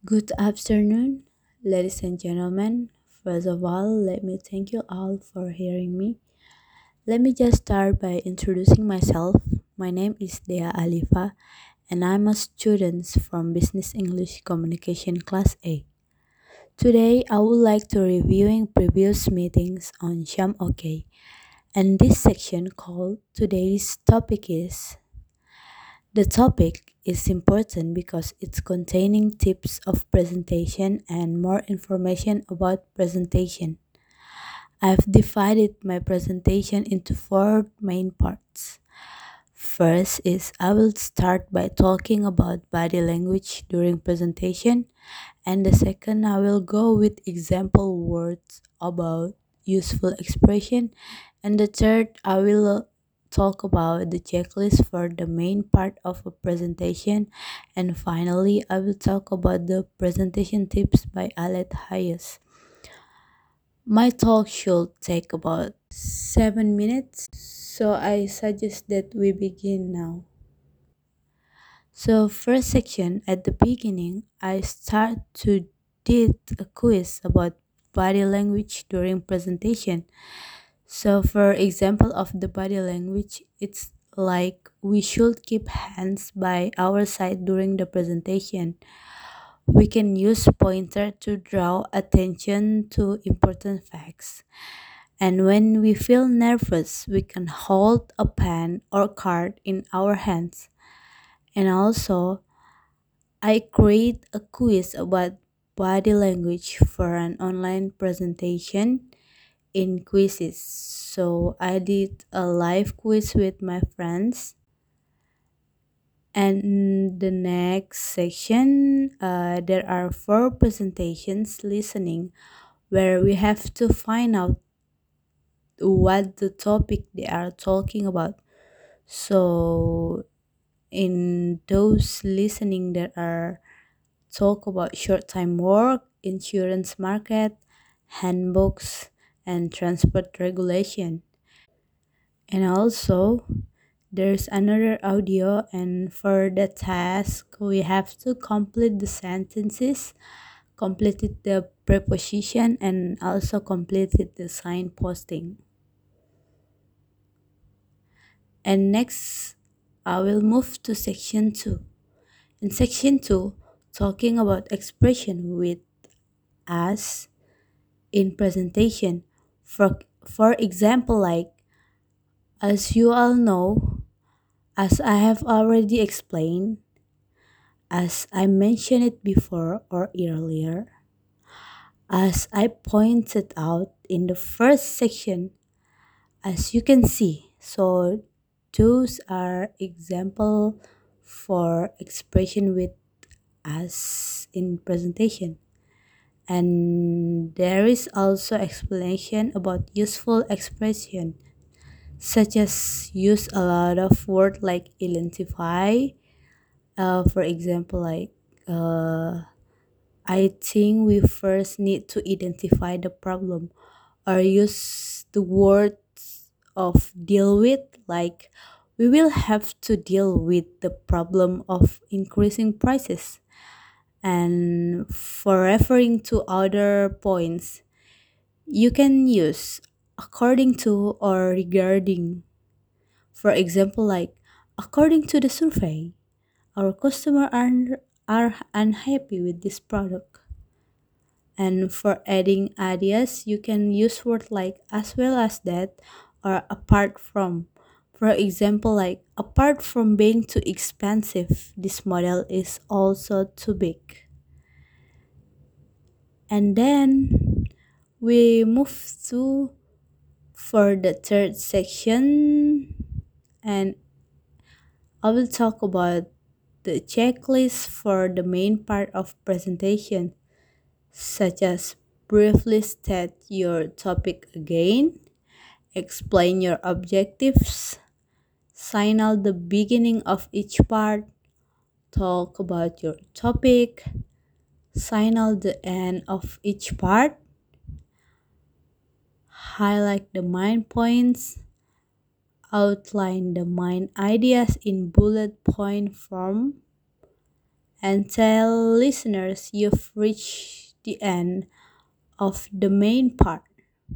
Good afternoon, ladies and gentlemen. First of all, let me thank you all for hearing me. Let me just start by introducing myself. My name is Dea Alifa, and I'm a student from Business English Communication Class A. Today, I would like to reviewing previous meetings on Sham OK, and this section called today's topic is the topic is important because it's containing tips of presentation and more information about presentation. I've divided my presentation into four main parts. First is I will start by talking about body language during presentation, and the second I will go with example words about useful expression, and the third I will talk about the checklist for the main part of a presentation, and finally I will talk about the presentation tips by Alet Hayes. My talk should take about 7 minutes, so I suggest that we begin now. So first section at the beginning, I start to did a quiz about body language during presentation. So for example of the body language, it's like we should keep hands by our side during the presentation. We can use pointer to draw attention to important facts. And when we feel nervous, we can hold a pen or card in our hands. And also, I create a quiz about body language for an online presentation in quizzes. So I did a live quiz with my friends. And the next section, there are four presentations listening where we have to find out what the topic they are talking about. So in those listening, there are talk about short time work, insurance market, handbooks, and transport regulation. And also, there's another audio, and for the task, we have to complete the sentences, completed the preposition, and also completed the sign posting. And next, I will move to section 2. In section 2, talking about expression with us in presentation. For example, like as you all know, as I have already explained, as I mentioned it before or earlier, as I pointed out in the first section, as you can see, so those are example for expression with us in presentation. And there is also explanation about useful expression such as use a lot of word like identify, for example like uh, I think we first need to identify the problem, or use the words of deal with, like we will have to deal with the problem of increasing prices. And for referring to other points, you can use according to or regarding. For example, like according to the survey, our are unhappy with this product. And for adding ideas, you can use words like as well as that or apart from. For example, like apart from being too expensive, this model is also too big. And then we move to for the third section, and I will talk about the checklist for the main part of presentation, such as briefly state your topic again, explain your objectives, signal the beginning of each part, talk about your topic, signal the end of each part, highlight the main points, outline the main ideas in bullet point form, and tell listeners you've reached the end of the main part.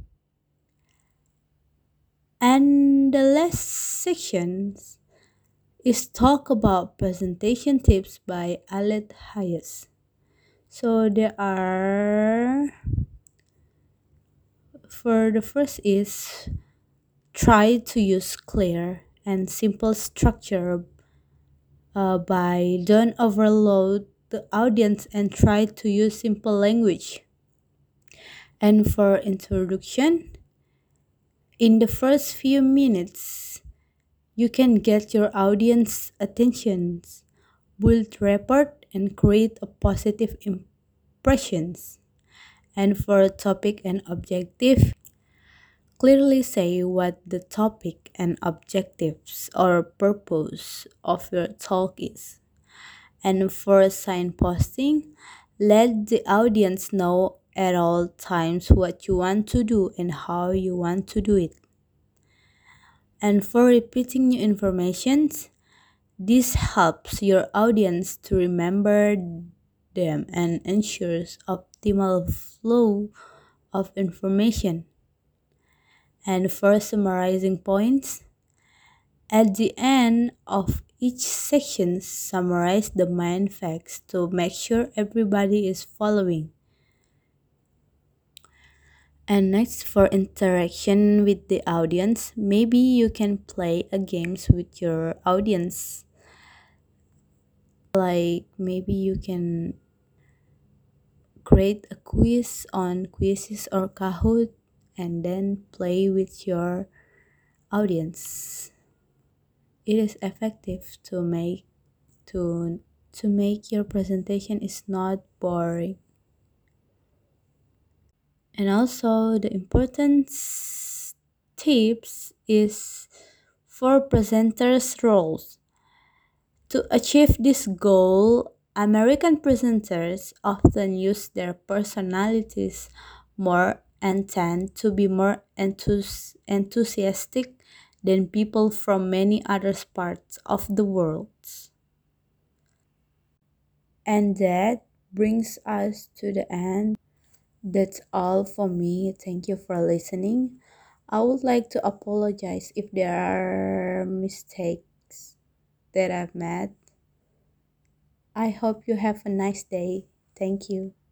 And the last section is talk about presentation tips by Alet Hayes. So there are, for the first is try to use clear and simple structure by don't overload the audience and try to use simple language. And for introduction, in the first few minutes, you can get your audience attention, build rapport, and create a positive impressions. And for topic and objective, clearly say what the topic and objectives or purpose of your talk is. And for signposting, let the audience know at all times what you want to do and how you want to do it. And for repeating new informations, this helps your audience to remember them and ensures optimal flow of information. And for summarizing points, at the end of each section, summarize the main facts to make sure everybody is following. And next, for interaction with the audience, maybe you can play a games with your audience. Like maybe you can create a quiz on quizzes or Kahoot and then play with your audience. It is effective to to make your presentation is not boring. And also the important tips is for presenters roles. To achieve this goal, American presenters often use their personalities more and tend to be more enthusiastic than people from many other parts of the world. And that brings us to the end. That's all for me. Thank you for listening. I would like to apologize if there are mistakes that I've made. I hope you have a nice day. Thank you.